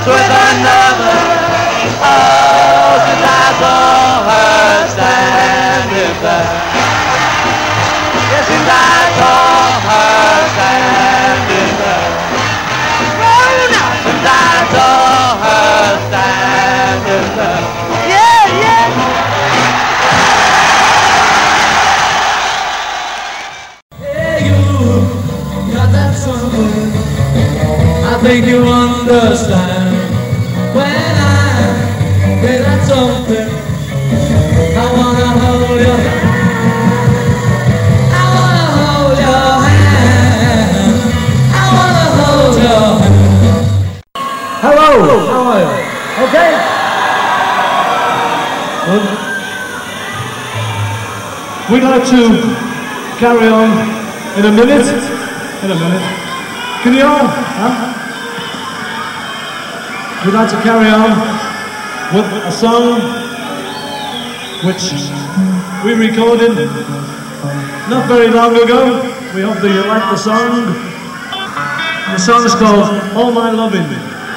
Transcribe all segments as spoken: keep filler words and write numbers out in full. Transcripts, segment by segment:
with another. Oh, since I saw her standing there. Yes, since I saw her standing there. Oh, now since I saw her standing there. Yeah, yeah. I think you understand when I say that something. I wanna hold your I wanna hold your hand. I wanna hold your hand. Hello, how are you? Okay? Good. We'd like to carry on in a minute. In a minute. Can you all? Huh? We'd like to carry on with a song which we recorded not very long ago. We hope that you like the song. The song is called All My Loving.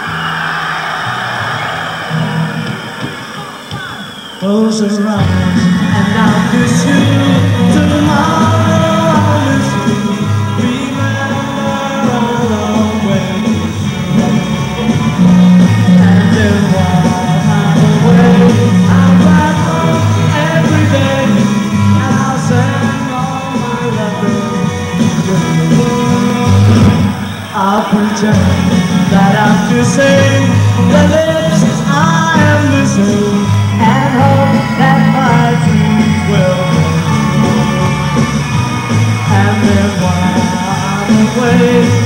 Close your eyes and I'll kiss you tomorrow. I'll miss you. Remember all the way. And then while I'm away, I'll write home every day. And I'll send all my loving to the world. I'll pretend that I'm kissing the lips I am missing. And hope that my dreams will come true. And then while I'm away,